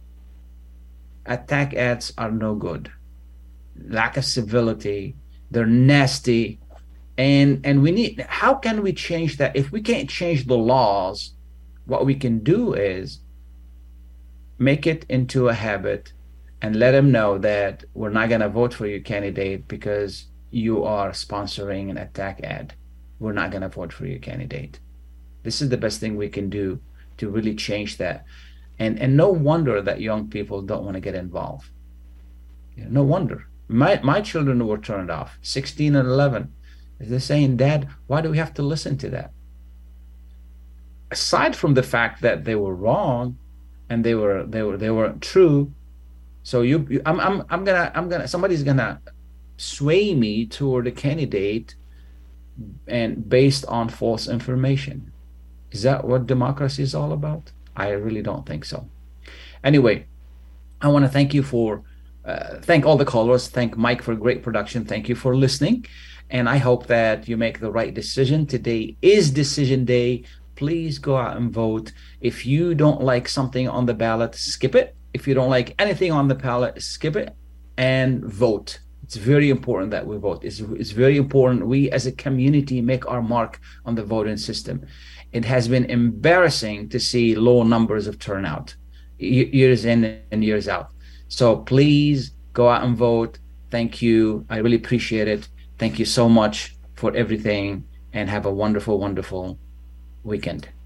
Attack ads are no good. Lack of civility. They're nasty. And and we need, how can we change that? If we can't change the laws, what we can do is make it into a habit and let them know that we're not going to vote for your candidate because you are sponsoring an attack ad. We're not going to vote for your candidate. This is the best thing we can do to really change that. And and no wonder that young people don't want to get involved. You know, no wonder. My my children were turned off, sixteen and eleven. They're saying, "Dad, why do we have to listen to that?" Aside from the fact that they were wrong and they were they were they weren't true. So you, you I'm I'm I'm gonna I'm gonna somebody's gonna sway me toward a candidate and based on false information. Is that what democracy is all about? I really don't think so. Anyway, I want to thank you for uh, thank all the callers, thank Mike for great production, thank you for listening, and I hope that you make the right decision. Today is decision day. Please go out and vote. If you don't like something on the ballot, skip it. If you don't like anything on the ballot, skip it and vote. It's very important that we vote. It's, it's very important we as a community make our mark on the voting system. It has been embarrassing to see low numbers of turnout years in and years out. So please go out and vote. Thank you. I really appreciate it. Thank you so much for everything, and have a wonderful, wonderful weekend.